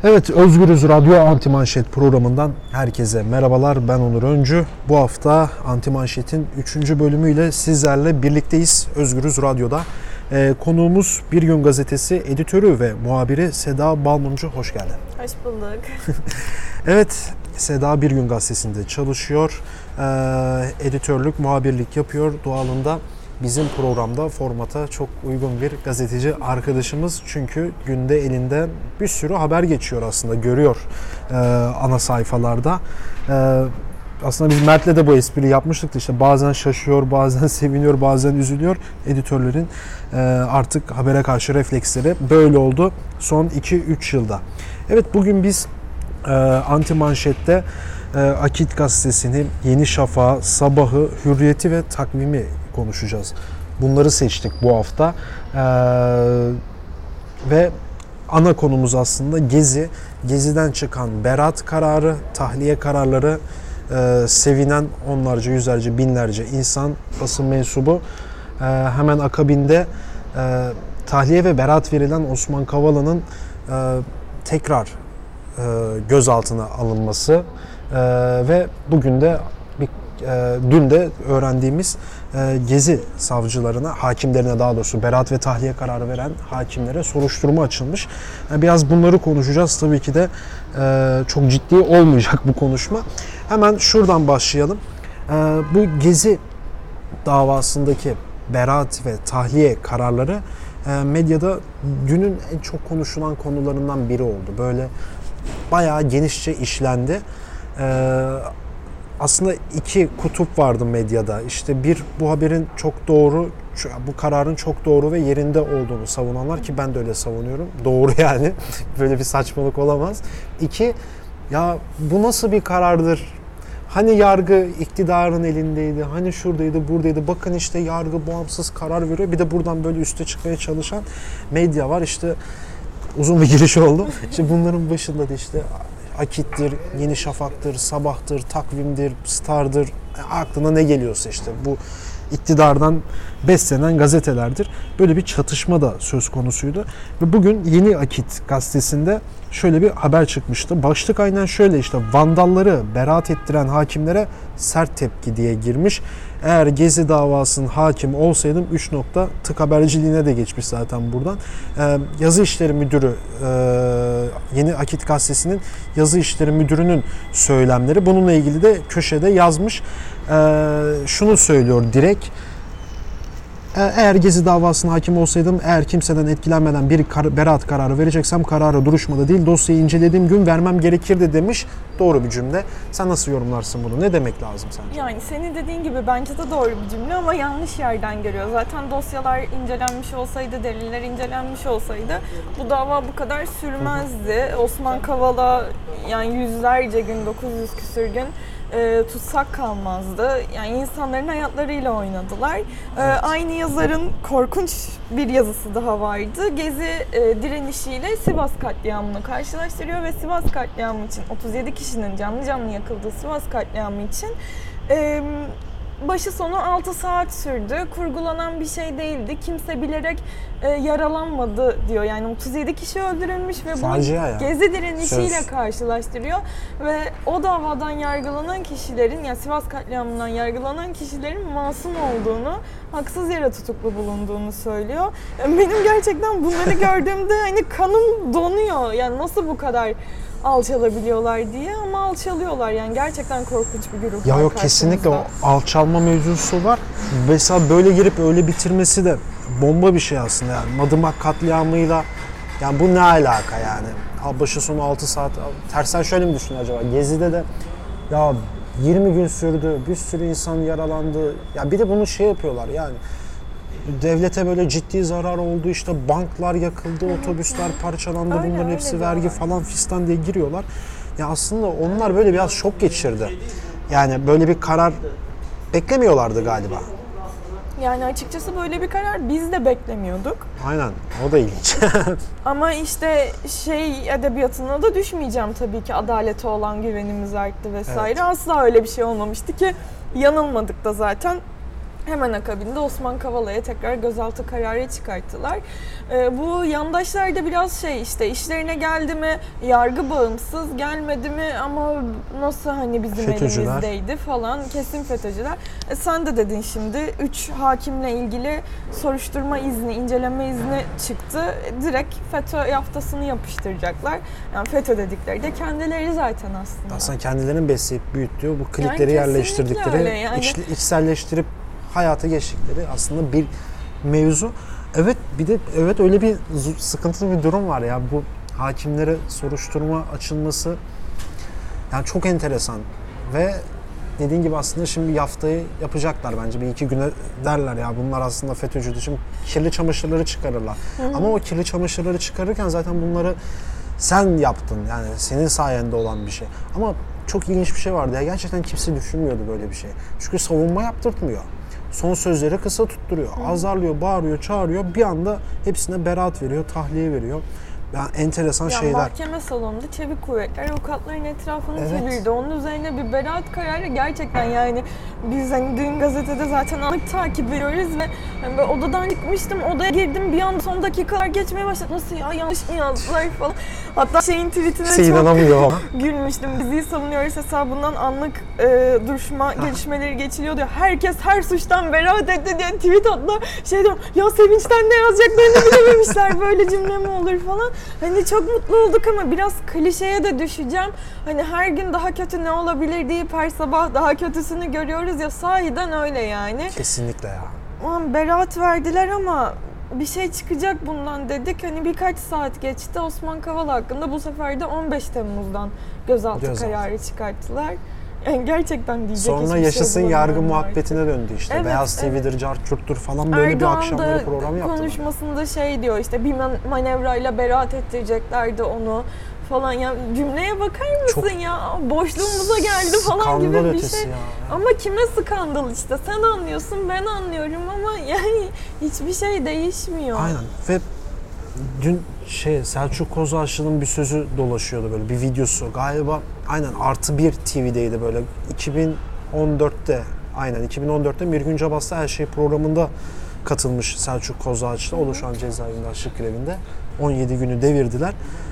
Evet, Özgürüz Radyo Antimanşet programından herkese merhabalar. Ben Onur Öncü. Bu hafta Antimanşet'in 3. bölümüyle sizlerle birlikteyiz Özgürüz Radyo'da. Konuğumuz Bir Gün Gazetesi editörü ve muhabiri Seda Balmumcu. Hoş geldin. Hoş bulduk. Evet, Seda Bir Gün Gazetesi'nde çalışıyor. Editörlük, muhabirlik yapıyor. Doğalında bizim programda formata çok uygun bir gazeteci arkadaşımız. Çünkü günde elinde bir sürü haber geçiyor aslında, görüyor ana sayfalarda. Aslında biz Mert'le de bu espriyi yapmıştık da işte bazen şaşıyor, bazen seviniyor, bazen üzülüyor. Editörlerin artık habere karşı refleksleri böyle oldu son 2-3 yılda. Evet, bugün biz Antimanşet'te Akit Gazetesi'ni, Yeni Şafak'ı, Sabah'ı, Hürriyet'i ve Takvim'i konuşacağız. Bunları seçtik bu hafta. Ve ana konumuz aslında Gezi. Gezi'den çıkan beraat kararı, tahliye kararları, sevinen onlarca, yüzlerce, binlerce insan, basın mensubu. Hemen akabinde tahliye ve beraat verilen Osman Kavala'nın tekrar gözaltına alınması ve bugün de dün de öğrendiğimiz Gezi savcılarına, hakimlerine, daha doğrusu beraat ve tahliye kararı veren hakimlere soruşturma açılmış. Biraz bunları konuşacağız. Tabii ki de çok ciddi olmayacak bu konuşma. Hemen şuradan başlayalım. Bu Gezi davasındaki beraat ve tahliye kararları medyada günün en çok konuşulan konularından biri oldu. Böyle bayağı genişçe işlendi. Aslında iki kutup vardı medyada. İşte bir, bu haberin çok doğru, bu kararın çok doğru ve yerinde olduğunu savunanlar, ki ben de öyle savunuyorum. Doğru yani. Böyle bir saçmalık olamaz. İki, ya bu nasıl bir karardır? Hani yargı iktidarın elindeydi, hani şuradaydı, buradaydı. Bakın işte yargı bağımsız karar veriyor. Bir de buradan böyle üste çıkmaya çalışan medya var. İşte uzun bir giriş oldu. İşte bunların başında da işte Akit'tir, Yeni Şafak'tır, Sabah'tır, Takvim'dir, Star'dır. Aklına ne geliyorsa işte bu iktidardan beslenen gazetelerdir. Böyle bir çatışma da söz konusuydu. Ve bugün Yeni Akit gazetesinde şöyle bir haber çıkmıştı. Başlık aynen şöyle, işte vandalları beraat ettiren hakimlere sert tepki diye girmiş. Eğer Gezi davasının hakim olsaydım 3 nokta tık haberciliğine de geçmiş zaten buradan. Yazı İşleri Müdürü, Yeni Akit gazetesinin Yazı İşleri Müdürü'nün söylemleri. Bununla ilgili de köşede yazmış. Şunu söylüyor direkt: eğer Gezi davasına hakim olsaydım, eğer kimseden etkilenmeden bir beraat kararı vereceksem kararı duruşmada değil dosyayı incelediğim gün vermem gerekirdi demiş. Doğru bir cümle. Sen nasıl yorumlarsın bunu? Ne demek lazım sence? Yani senin dediğin gibi bence de doğru bir cümle ama yanlış yerden görüyor. Zaten dosyalar incelenmiş olsaydı, deliller incelenmiş olsaydı bu dava bu kadar sürmezdi. Osman Kavala yani yüzlerce gün, 900 küsür gün tutsak kalmazdı. Yani insanların hayatlarıyla oynadılar. Evet. Aynı yazarın korkunç bir yazısı daha vardı. Gezi direnişiyle Sivas katliamını karşılaştırıyor ve Sivas katliamı için 37 kişinin canlı canlı yakıldığı Sivas katliamı için başı sonu 6 saat sürdü. Kurgulanan bir şey değildi. Kimse bilerek yaralanmadı diyor. Yani 37 kişi öldürülmüş ve bunu Gezi direnişiyle karşılaştırıyor. Ve o davadan yargılanan kişilerin, yani Sivas katliamından yargılanan kişilerin masum olduğunu, haksız yere tutuklu bulunduğunu söylüyor. Benim gerçekten bunları gördüğümde hani kanım donuyor. Yani nasıl bu kadar alçalabiliyorlar diye, ama alçalıyorlar. Yani gerçekten korkunç bir grup. Ya yok, kesinlikle o alçalma mevzusu var. Mesela böyle girip öyle bitirmesi de bomba bir şey aslında yani. Madımak katliamıyla yani bu ne alaka yani? Başı sonu 6 saat. Tersen şöyle mi düşün acaba? Gezi'de de ya 20 gün sürdü. Bir sürü insan yaralandı. Ya bir de bunu şey yapıyorlar yani. Devlete böyle ciddi zarar oldu, işte banklar yakıldı, otobüsler parçalandı, bunların hepsi vergi falan fistan diye giriyorlar. Ya aslında onlar böyle biraz şok geçirdi. Yani böyle bir karar beklemiyorlardı galiba. Yani açıkçası böyle bir karar biz de beklemiyorduk. Aynen, o da ilginç. Ama işte edebiyatına da düşmeyeceğim tabii ki, adalete olan güvenimiz arttı vesaire. Evet. Asla öyle bir şey olmamıştı ki, yanılmadık da zaten. Hemen akabinde Osman Kavala'ya tekrar gözaltı kararı çıkarttılar. Bu yandaşlar da biraz işte işlerine geldi mi yargı bağımsız, gelmedi mi ama nasıl hani bizim FETÖ'cüler elimizdeydi falan, kesin FETÖ'cüler. Sen de dedin şimdi 3 hakimle ilgili soruşturma izni, inceleme izni çıktı. Direkt FETÖ yaftasını yapıştıracaklar. Yani FETÖ dedikleri de kendileri zaten aslında. Aslında kendilerinin besleyip büyüttüğü bu klikleri Yani yerleştirdikleri, yani. içselleştirip hayata geçtikleri aslında bir mevzu. Evet, bir de evet öyle bir sıkıntılı bir durum var ya, bu hakimlere soruşturma açılması yani çok enteresan ve dediğin gibi aslında şimdi yaftayı yapacaklar bence, bir iki güne derler ya bunlar aslında FETÖ'cüdür. Şimdi kirli çamaşırları çıkarırlar. Ama o kirli çamaşırları çıkarırken zaten bunları sen yaptın, yani senin sayende olan bir şey. Ama çok ilginç bir şey vardı ya, gerçekten kimse düşünmüyordu böyle bir şey. Çünkü savunma yaptırtmıyor. Son sözleri kısa tutturuyor. Azarlıyor, bağırıyor, çağırıyor. Bir anda hepsine beraat veriyor, tahliye veriyor. Yani enteresan şeyler. Mahkeme salonunda çevik kuvvetler avukatların etrafını çevirdi. Onun üzerine bir beraat kararı, gerçekten yani biz hani dün gazetede zaten anlık takip ediyoruz ve hani odadan çıkmıştım, odaya girdim, bir anda son dakikalar geçmeye başladı. Nasıl ya, yanlış mı yazdılar falan. Hatta tweetine çok inanamıyor. gülmüştüm. Bizi savunuyoruz hesabından anlık duruşma gelişmeleri geçiliyor diyor. Herkes her suçtan beraat etti diye tweet attılar. Diyorum ya, sevinçten ne yazacaklarını bilememişler, böyle cümle mi olur falan. Hani çok mutlu olduk ama biraz klişeye de düşeceğim. Hani her gün daha kötü ne olabilir deyip her sabah daha kötüsünü görüyoruz ya, sahiden öyle yani. Kesinlikle ya. Aman beraat verdiler ama bir şey çıkacak bundan dedik. Hani birkaç saat geçti. Osman Kavala hakkında bu sefer de 15 Temmuz'dan gözaltı kararı çıkarttılar. Yani gerçekten diyecek sonra yaşasın şey yargı muhabbetine döndü işte. Evet, Beyaz TV'dir, Carçurt'tur falan böyle Erdoğan bir akşamları program yaptılar. Konuşmasında diyor işte, bir manevrayla beraat ettireceklerdi onu falan. Ya cümleye bakar mısın çok ya? Boşluğumuza geldi falan gibi bir şey. Ya. Ama kime skandal işte? Sen anlıyorsun, ben anlıyorum ama yani hiçbir şey değişmiyor. Aynen. Ve dün Selçuk Kozağaçlı'nın bir sözü dolaşıyordu, böyle bir videosu. Galiba aynen +1 TV'deydi böyle 2014'te. Aynen 2014'te Mirgün Cabas'ta Her Şey programında katılmış Selçuk Kozağaçlı. O da şu an cezaevinde, açlık grevinde. 17 günü devirdiler.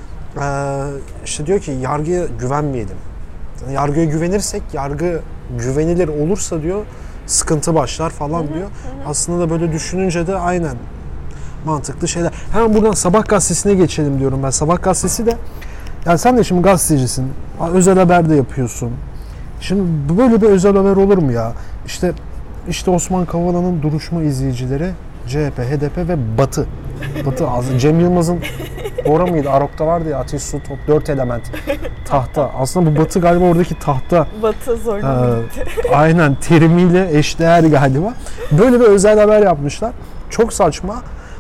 İşte diyor ki yargıya güvenmeyelim. Yani yargıya güvenirsek, yargı güvenilir olursa diyor sıkıntı başlar falan diyor. Aslında da böyle düşününce de aynen mantıklı şeyler. Hemen buradan Sabah gazetesine geçelim diyorum ben. Sabah gazetesi de, yani sen de şimdi gazetecisin, özel haber de yapıyorsun. Şimdi böyle bir özel haber olur mu ya? İşte Osman Kavala'nın duruşma izleyicileri CHP, HDP ve Batı. Cem Yılmaz'ın Bora mıydı? Arok'ta vardı ya, ateş, su, top, 4 element. Tahta. Aslında bu Batı galiba oradaki tahta. Batı zorla aynen terimiyle eşdeğer galiba. Böyle bir özel haber yapmışlar. Çok saçma.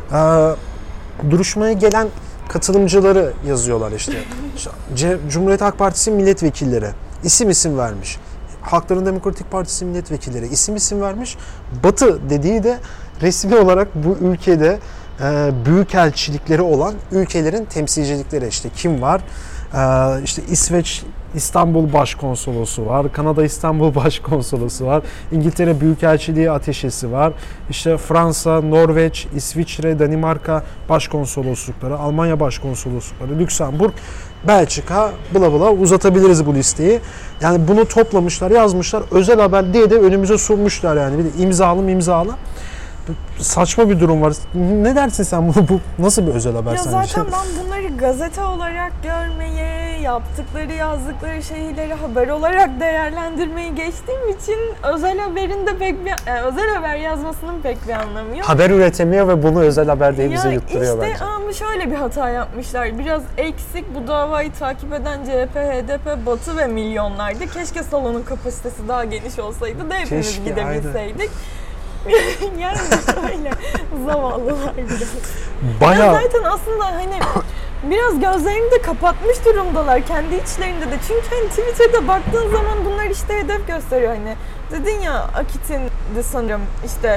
Duruşmaya gelen katılımcıları yazıyorlar işte. Cumhuriyet Halk Partisi milletvekilleri isim vermiş. Halkların Demokratik Partisi milletvekilleri isim vermiş. Batı dediği de resmi olarak bu ülkede büyükelçilikleri olan ülkelerin temsilcilikleri. İşte kim var? İşte İsveç İstanbul Başkonsolosu var, Kanada İstanbul Başkonsolosu var, İngiltere Büyükelçiliği Ateşesi var, işte Fransa, Norveç, İsviçre, Danimarka Başkonsoloslukları, Almanya Başkonsoloslukları, Lüksemburg, Belçika, bla uzatabiliriz bu listeyi. Yani bunu toplamışlar, yazmışlar, özel haber diye de önümüze sunmuşlar yani. Bir de imzalı. Saçma bir durum var. Ne dersin sen bu nasıl bir özel haber ya sence? Zaten ben bunları gazete olarak görmeyi, yaptıkları, yazdıkları şeyleri haber olarak değerlendirmeyi geçtiğim için özel haberin de özel haber yazmasının pek bir anlamı yok. Haber üretemiyor ve bunu özel haber diye bize yutturuyor bence. İşte ama şöyle bir hata yapmışlar. Biraz eksik, bu davayı takip eden CHP, HDP, Batı ve milyonlardı. Keşke salonun kapasitesi daha geniş olsaydı da hepimiz gidebilseydik. Aynen. Yani öyle zavallılar biraz. Bayağı... Zaten aslında hani biraz gözlerini de kapatmış durumdalar kendi içlerinde de. Çünkü hani Twitter'da baktığın zaman bunlar işte hedef gösteriyor hani. Dedin ya Akit'in de sanırım işte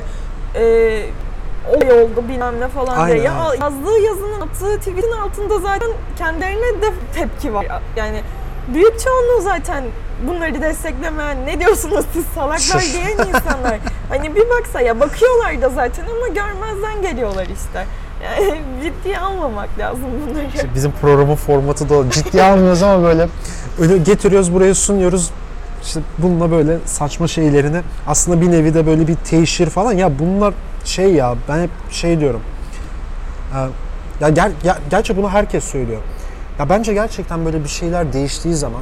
olay oldu bilmem ne falan aynen, diye. Yazdığı yazının attığı tweet'in altında zaten kendilerine de tepki var. Yani büyük çoğunluğu zaten bunları desteklemeyen, ne diyorsunuz siz salaklar diyen insanlar. Hani bir baksa ya, bakıyorlar da zaten ama görmezden geliyorlar işte. Yani ciddiye almamak lazım bunları. İşte bizim programın formatı da o. Ciddiye almıyoruz ama böyle getiriyoruz, buraya sunuyoruz. İşte bununla böyle saçma şeylerini, aslında bir nevi de böyle bir teşhir falan. Ya bunlar şey ya, ben hep şey diyorum. Ya gerçi bunu herkes söylüyor. Ya bence gerçekten böyle bir şeyler değiştiği zaman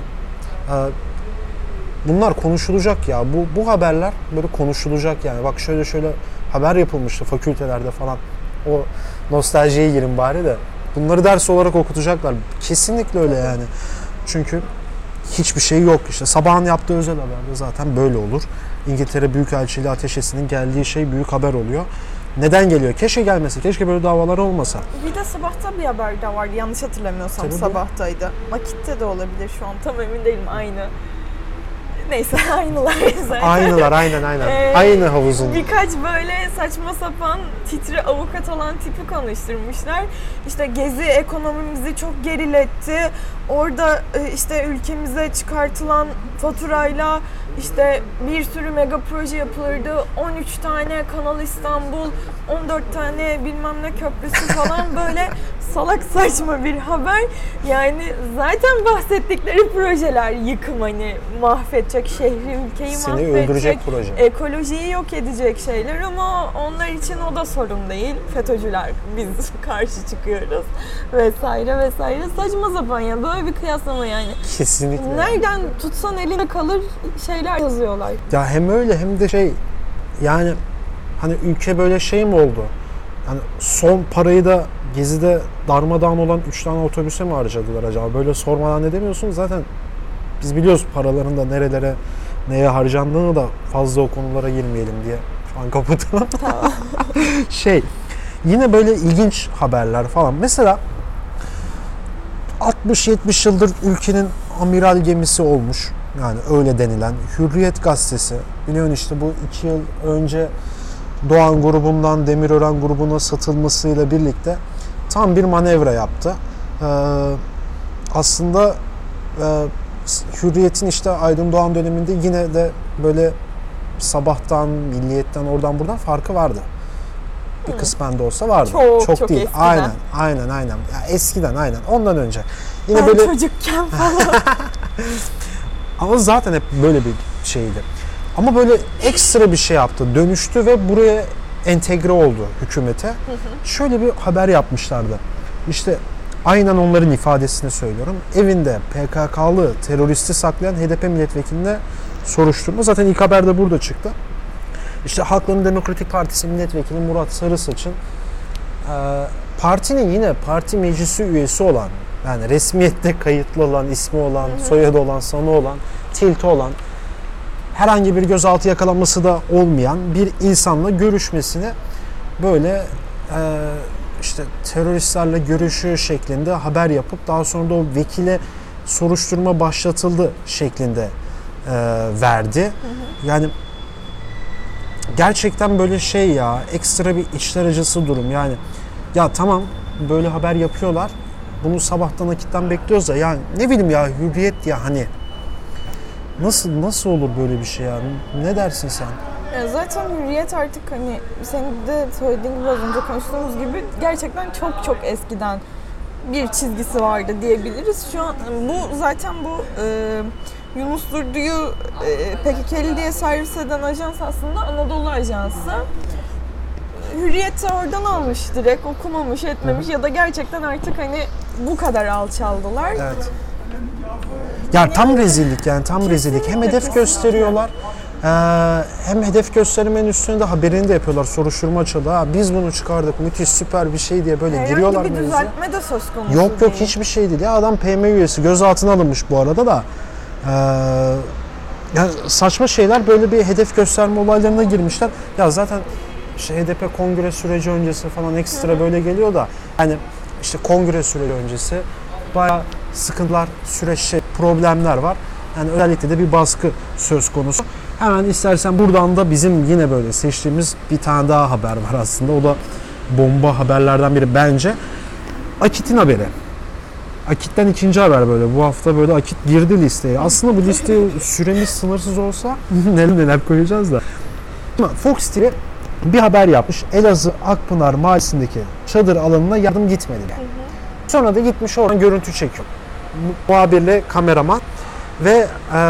bunlar konuşulacak ya. Bu haberler böyle konuşulacak yani. Bak şöyle haber yapılmıştı fakültelerde falan. O nostaljiye girin bari de. Bunları ders olarak okutacaklar. Kesinlikle öyle yani. Çünkü hiçbir şey yok işte. Sabahın yaptığı özel haberde zaten böyle olur. İngiltere Büyükelçiliği ateşesinin geldiği şey büyük haber oluyor. Neden geliyor? Keşke gelmese. Keşke böyle davalar olmasa. Bir de Sabah'ta bir haber de vardı. Yanlış hatırlamıyorsam Tabii Sabah'taydı. Vakit'te de olabilir şu an. Tam emin değilim. Aynı. Neyse aynılar zaten. Aynılar aynen. Aynı havuzun. Birkaç böyle saçma sapan titri avukat olan tipi konuşturmuşlar. İşte Gezi ekonomimizi çok geriletti. Orada işte ülkemize çıkartılan faturayla işte bir sürü mega proje yapılırdı. 13 tane Kanal İstanbul, 14 tane bilmem ne köprüsü falan böyle salak saçma bir haber. Yani zaten bahsettikleri projeler yıkım, hani mahvedecek şehri, ülkeyi Seni mahvedecek, öldürecek proje. ekolojiyi yok edecek şeyler ama onlar için o da sorun değil. FETÖ'cüler, biz karşı çıkıyoruz vesaire. Saçma sapan ya, böyle bir kıyaslama yani. Kesinlikle. Nereden tutsan eline kalır şeyler yazıyorlar. Ya hem öyle hem de şey yani hani ülke böyle şey mi oldu? Yani son parayı da Gezi'de darmadağın olan 3 tane otobüse mi harcadılar acaba? Böyle sormadan ne demiyorsun? Zaten biz biliyoruz paraların da nerelere, neye harcandığını da, fazla o konulara girmeyelim diye şu an kapatalım. Tamam. Yine böyle ilginç haberler falan. Mesela 60-70 yıldır ülkenin amiral gemisi olmuş. Yani öyle denilen Hürriyet gazetesi. Biliyorsun işte bu 2 yıl önce Doğan grubundan Demirören grubuna satılmasıyla birlikte tam bir manevra yaptı. Aslında Hürriyet'in işte Aydın Doğan döneminde yine de böyle Sabah'tan, Milliyet'ten, oradan buradan farkı vardı. Bir kısmen de olsa vardı. Çok değil. Eskiden. Aynen. Ya eskiden aynen. Ondan önce. Yine Ben böyle çocukken falan. ama zaten hep böyle bir şeydi. Ama böyle ekstra bir şey yaptı. Dönüştü ve buraya entegre oldu hükümete. Şöyle bir haber yapmışlardı. İşte aynen onların ifadesini söylüyorum. Evinde PKK'lı teröristi saklayan HDP milletvekiline soruşturma. Zaten ilk haber de burada çıktı. İşte Halkların Demokratik Partisi milletvekili Murat Sarısaç'ın partinin yine parti meclisi üyesi olan, yani resmiyette kayıtlı olan, ismi olan, soyadı olan, sanı olan, tilti olan, herhangi bir gözaltı yakalanması da olmayan bir insanla görüşmesini böyle işte teröristlerle görüşüyor şeklinde haber yapıp daha sonra da o vekile soruşturma başlatıldı şeklinde verdi. Yani gerçekten böyle şey ya, ekstra bir içler acısı durum yani. Ya tamam böyle haber yapıyorlar. Bunu Sabah'tan Akit'ten bekliyoruz da yani ne bileyim ya, Hürriyet ya hani nasıl olur böyle bir şey ya? Ne dersin sen? Ya zaten Hürriyet artık hani senin de söylediğin gibi, az önce konuştuğumuz gibi gerçekten çok eskiden bir çizgisi vardı diyebiliriz. Şu an bu zaten Yunus Durdu'yu PKK'li diye servis eden ajans aslında Anadolu Ajansı. Hürriyet'i oradan almış direkt, okumamış etmemiş ya da gerçekten artık hani bu kadar alçaldılar. Evet. Ya tam rezillik yani, tam rezillik. Hem hedef gösteriyorlar, hem hedef göstermenin üstüne de haberini de yapıyorlar. Soruşturma açıldı. Ha, biz bunu çıkardık, müthiş, süper bir şey diye böyle giriyorlar. Herhangi bir mevzuya. düzeltme de söz konusu Yok değil. hiçbir şey değil. Ya adam PM üyesi, gözaltına alınmış bu arada da. Ya saçma şeyler, böyle bir hedef gösterme olaylarına girmişler. Ya zaten işte HDP kongre süreci öncesi falan ekstra böyle geliyor da hani işte kongre süreci öncesi bayağı sıkıntılar, süreç, problemler var. Yani özellikle de bir baskı söz konusu. Hemen istersen buradan da bizim yine böyle seçtiğimiz bir tane daha haber var aslında. O da bomba haberlerden biri bence. Akit'in haberi. Akit'ten ikinci haber böyle. Bu hafta böyle Akit girdi listeye. Aslında bu listeye süremiz sınırsız olsa neler neler koyacağız da. Ama Fox TV bir haber yapmış. Elazığ Akpınar Mahallesi'ndeki çadır alanına yardım gitmedi yani. Sonra da gitmiş oradan görüntü çekiyor. Muhabirle kameraman ve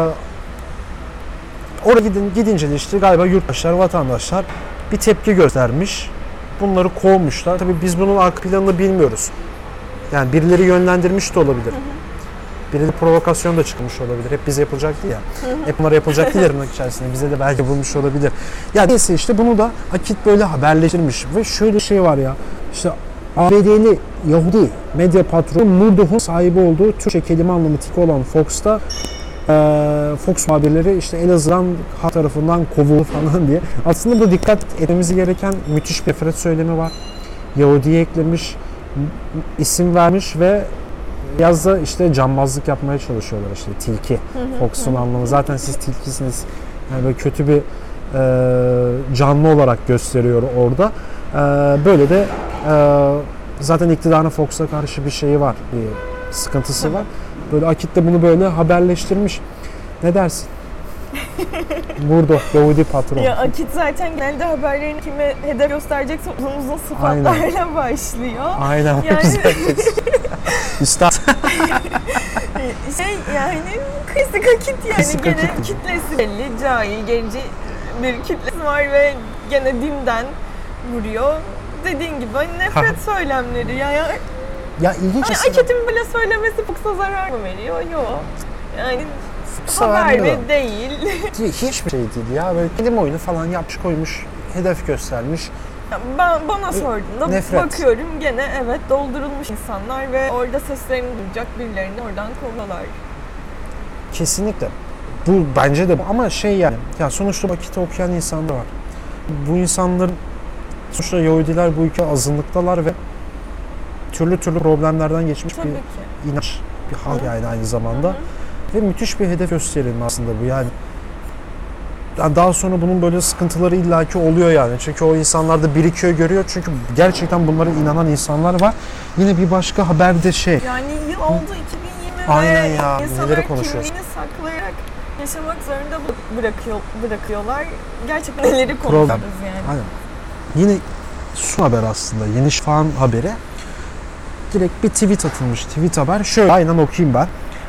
oraya gidince de işte galiba yurttaşlar, vatandaşlar bir tepki göstermiş. Bunları kovmuşlar. Tabii biz bunun arka planını bilmiyoruz. Yani birileri yönlendirmiş de olabilir. Birileri provokasyon da çıkmış olabilir. Hep bize yapılacak değil ya. Hep bunlara yapılacak değil tırnak içerisinde. Bize de belki bulmuş olabilir. Ya neyse işte bunu da Akit böyle haberleştirmiş. Ve şöyle şey var ya. İşte ABD'li Yahudi medya patronu Murdoch'un sahibi olduğu Türkçe kelime anlamı tiki olan Fox'ta Fox muhabirleri işte Elazığ'dan halk tarafından kovuldu falan diye. Aslında bu dikkat etmemiz gereken müthiş bir nefret söylemi var. Yahudi'ye eklemiş, isim vermiş ve biraz da işte cambazlık yapmaya çalışıyorlar işte tilki. Fox'un anlamı zaten siz tilkisiniz. Yani böyle kötü bir canlı olarak gösteriyor orada. Böyle de zaten iktidarın Fox'a karşı bir şeyi var, bir sıkıntısı var. Böyle Akit de bunu böyle haberleştirmiş. Ne dersin? Burada Yahudi patron. Ya Akit zaten genelde haberlerini kime hedef gösterecekse uzun sıfatlarla başlıyor. Aynen. Yani Üstad. yani klasik Akit yani Klasik gene Akit. kitlesi belli, cahil, gerici bir kitlesi var ve gene dinden vuruyor. Dediğin gibi hani nefret söylemleri Ya ilginç hani Akit'in bile söylemesi Fox'a zarar mı veriyor? Yok. Yani haber mi değil. Hiçbir şey değil ya. Böyle kelime oyunu falan yapmış koymuş, hedef göstermiş. Bana sorduğunda Nefret. bakıyorum gene evet doldurulmuş insanlar ve orada seslerini duyacak birilerini oradan kovalıyorlar. Kesinlikle. Bu bence de ama şey yani. Ya sonuçta Akit'i okuyan insanlar var. Bu insanların sonuçta Yahudiler bu ülke azınlıktalar ve türlü problemlerden geçmiş Tabii bir ki. inanç, bir hal yani aynı zamanda. Ve müthiş bir hedef gösterilme aslında bu yani. Daha sonra bunun böyle sıkıntıları illaki oluyor yani. Çünkü o insanlar da birikiyor, görüyor. Çünkü gerçekten bunlara inanan insanlar var. Yine bir başka haberde şey. Yani yıl oldu 2020 Aynen ve ya, insanlar neleri konuşuyoruz. kimliğini saklayarak yaşamak zorunda bırakıyorlar. Gerçekten neleri konuşuyoruz yani. Aynen. Yine son haber aslında. Yeni Şafak'ın haberi. Direkt bir tweet atılmış. Tweet haber. Şöyle aynen okuyayım ben.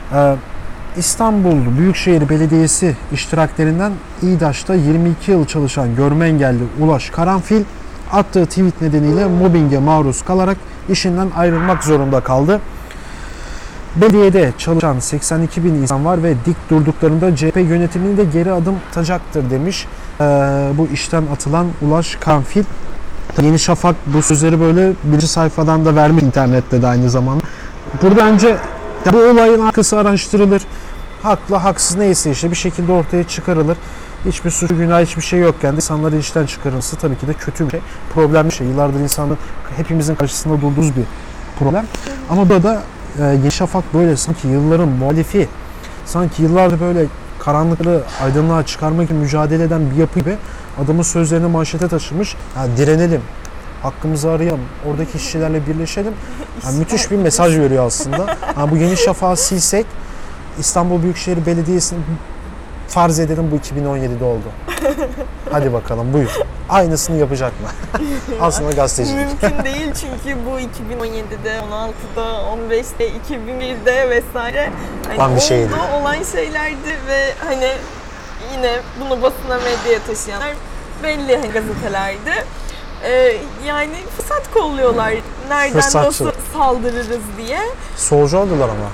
İstanbul Büyükşehir Belediyesi iştiraklerinden İDAŞ'ta 22 yıl çalışan görme engelli Ulaş Karanfil attığı tweet nedeniyle mobbinge maruz kalarak işinden ayrılmak zorunda kaldı. Belediyede çalışan 82 bin insan var ve dik durduklarında CHP yönetimini de geri adım atacaktır demiş bu işten atılan Ulaş Karanfil. Yeni Şafak bu sözleri böyle birinci sayfadan da vermiş internette de aynı zamanda. Burada önce bu olayın arkası araştırılır. Haklı, haksız neyse işte bir şekilde ortaya çıkarılır. Hiçbir suç, günah, hiçbir şey yokken de insanların işten çıkarılması tabii ki de kötü bir şey. Problemli bir şey. Yıllardır insanın hepimizin karşısında durduğumuz bir problem. Ama burada Yeni Şafak böyle sanki yılların muhalifi, sanki yıllardır böyle karanlıkları aydınlığa çıkarmak için mücadele eden bir yapı gibi adamın sözlerini manşete taşımış. Yani direnelim, hakkımızı arayalım, oradaki işçilerle birleşelim. Yani müthiş bir mesaj veriyor aslında. Yani bu Yeni Şafak'ı silsek, İstanbul Büyükşehir Belediyesi'nin farz edelim bu 2017'de oldu. Hadi bakalım buyur. Aynısını yapacak mı? Aslında gazetecilik. Mümkün değil çünkü bu 2017'de, 16'da, 15'te, 2001'de vesaire Lan bir şeydi. olan şeylerdi ve hani yine bunu basına medyaya taşıyanlar belli hani gazetelerdi. Yani fırsat kolluyorlar. Nereden nasıl saldırırız diye. Solcu oldular ama.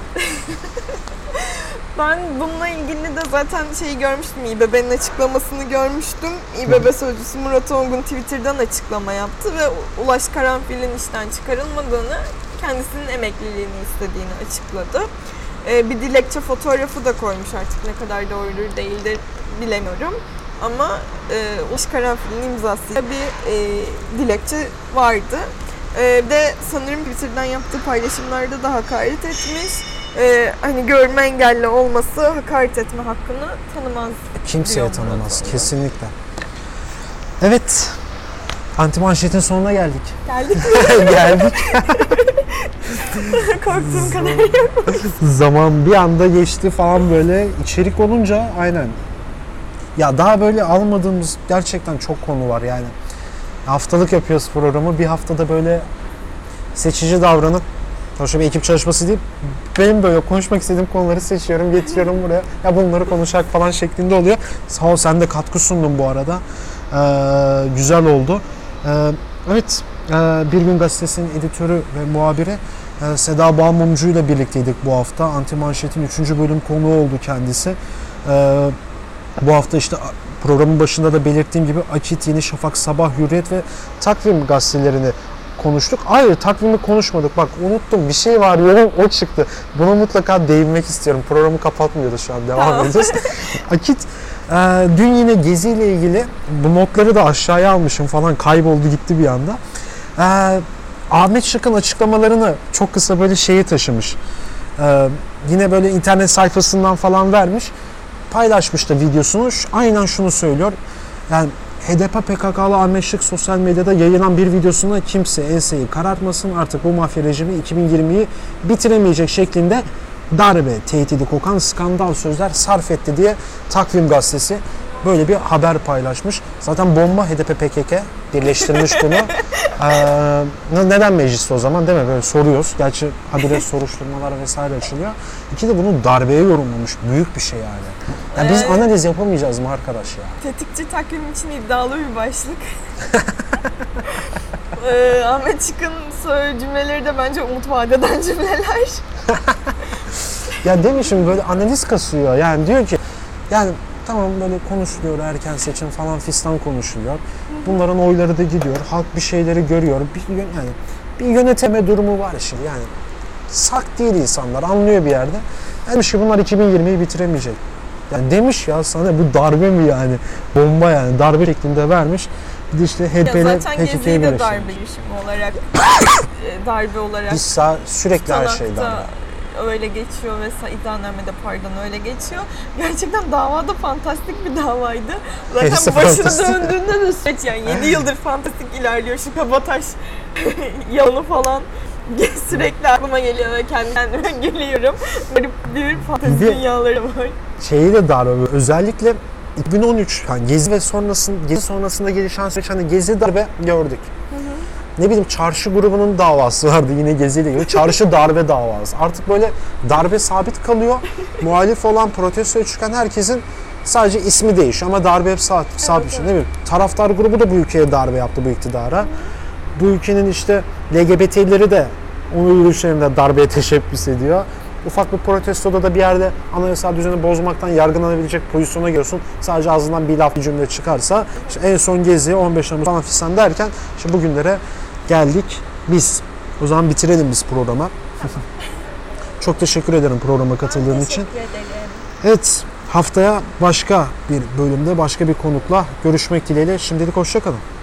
Ben bununla ilgili de zaten görmüştüm, İBB'nin açıklamasını görmüştüm. İBB sözcüsü Murat Ongun Twitter'dan açıklama yaptı ve Ulaş Karanfil'in işten çıkarılmadığını, kendisinin emekliliğini istediğini açıkladı. Bir dilekçe fotoğrafı da koymuş, artık ne kadar doğrudur değildir bilemiyorum. Ama Ulaş Karanfil'in imzasıyla bir dilekçe vardı. De sanırım Twitter'dan yaptığı paylaşımlarda da hakaret etmiş. Hani görme engelli olması hakaret etme hakkını tanımaz. Kimseye tanımaz kesinlikle. Evet. Antimanşetin sonuna geldik. Geldik mi? Geldik. Korktuğum kadar yok. Zaman bir anda geçti falan böyle. İçerik olunca aynen. Ya daha böyle almadığımız gerçekten çok konu var yani. Haftalık yapıyoruz programı. Bir haftada böyle seçici davranıp, sonuçta bir ekip çalışması değil, benim böyle konuşmak istediğim konuları seçiyorum, getiriyorum buraya. Ya bunları konuşacak falan şeklinde oluyor. Sağ ol, sen de katkı sundun bu arada. Güzel oldu. Evet, Bir Gün Gazetesi'nin editörü ve muhabiri Seda Bağmumcu ile birlikteydik bu hafta. Antimanşet'in 3. bölüm konuğu oldu kendisi. Bu hafta işte programın başında da belirttiğim gibi Akit, Yeni Şafak, Sabah, Hürriyet ve Takvim gazetelerini konuştuk. Hayır, takvimi konuşmadık. Bak unuttum, bir şey var diyorum, o çıktı. Buna mutlaka değinmek istiyorum. Programı kapatmıyoruz şu an, devam ediyoruz. Akit, dün yine Gezi ile ilgili bu notları da aşağıya almışım falan, kayboldu gitti bir anda. Ahmet Şık'ın açıklamalarını çok kısa böyle şeye taşımış. Yine böyle internet sayfasından falan vermiş. Paylaşmış da videosunu. Aynen şunu söylüyor. Yani HDP PKK'lı Ahmet Şık sosyal medyada yayılan bir videosunda kimse enseyi karartmasın, artık bu mafya rejimi 2020'yi bitiremeyecek şeklinde darbe, tehdidi kokan skandal sözler sarf etti diye Takvim gazetesi böyle bir haber paylaşmış. Zaten bomba HDP PKK birleştirmiş bunu. Neden mecliste o zaman, değil mi? Böyle soruyoruz. Gerçi habire soruşturmalar vesaire açılıyor. İki de bunu darbeye yorumlamış. Büyük bir şey yani. Ya biz analiz yapamayacağız mı arkadaş ya? Tetikçi takvim için iddialı bir başlık. Ahmet Şık'ın cümleleri de bence umut vadeden cümleler. Ya demişim, böyle analiz kasıyor. Yani diyor ki, yani tamam böyle konuşuluyor, erken seçim falan fistan konuşuluyor. Bunların oyları da gidiyor. Halk bir şeyleri görüyor. Yani bir yöneteme durumu var şimdi. Yani sak değil insanlar, anlıyor bir yerde. Demiş ki bunlar 2020'yi bitiremeyecek. Yani demiş ya, sana bu darbe mi yani? Bomba yani, darbe şeklinde vermiş. Bir de işte HDP'yle zaten Gezi'yi de darbe girişimi olarak darbe olarak biz sürekli her şey darbe. Öyle geçiyor ve iddianamede öyle geçiyor. Gerçekten davada fantastik bir davaydı. Zaten Hepsi başını fantastik. döndüğünde de süreç yani 7 yıldır fantastik ilerliyor. Şu Kabataş yalanı falan sürekli aklıma geliyor ve kendime geliyorum. Böyle bir fantezi dünyaları var. Şeyi de darbe. Özellikle 2013 yani Gezi sonrasında gelişen süreç, hani Gezi darbe gördük. Ne bileyim, çarşı grubunun davası vardı yine Gezi ile ilgili. Çarşı darbe davası. Artık böyle darbe sabit kalıyor. Muhalif olan, protestoya çıkan herkesin sadece ismi değişiyor ama darbe hep sabit bir şey. Ne bileyim, taraftar grubu da bu ülkeye darbe yaptı, bu iktidara. Bu ülkenin işte LGBT'leri de onun yürüyüşlerinde darbeye teşebbüs ediyor. Ufak bir protestoda da bir yerde anayasal düzeni bozmaktan yargılanabilecek pozisyona geliyorsun. Sadece ağzından bir laf, bir cümle çıkarsa. İşte en son Gezi, 15 Temmuz falan fistan derken işte bugünlere geldik biz. O zaman bitirelim biz programa. Çok teşekkür ederim programa katıldığın için. Teşekkür ederim. Evet, haftaya başka bir bölümde başka bir konukla görüşmek dileğiyle. Şimdilik hoşça kalın.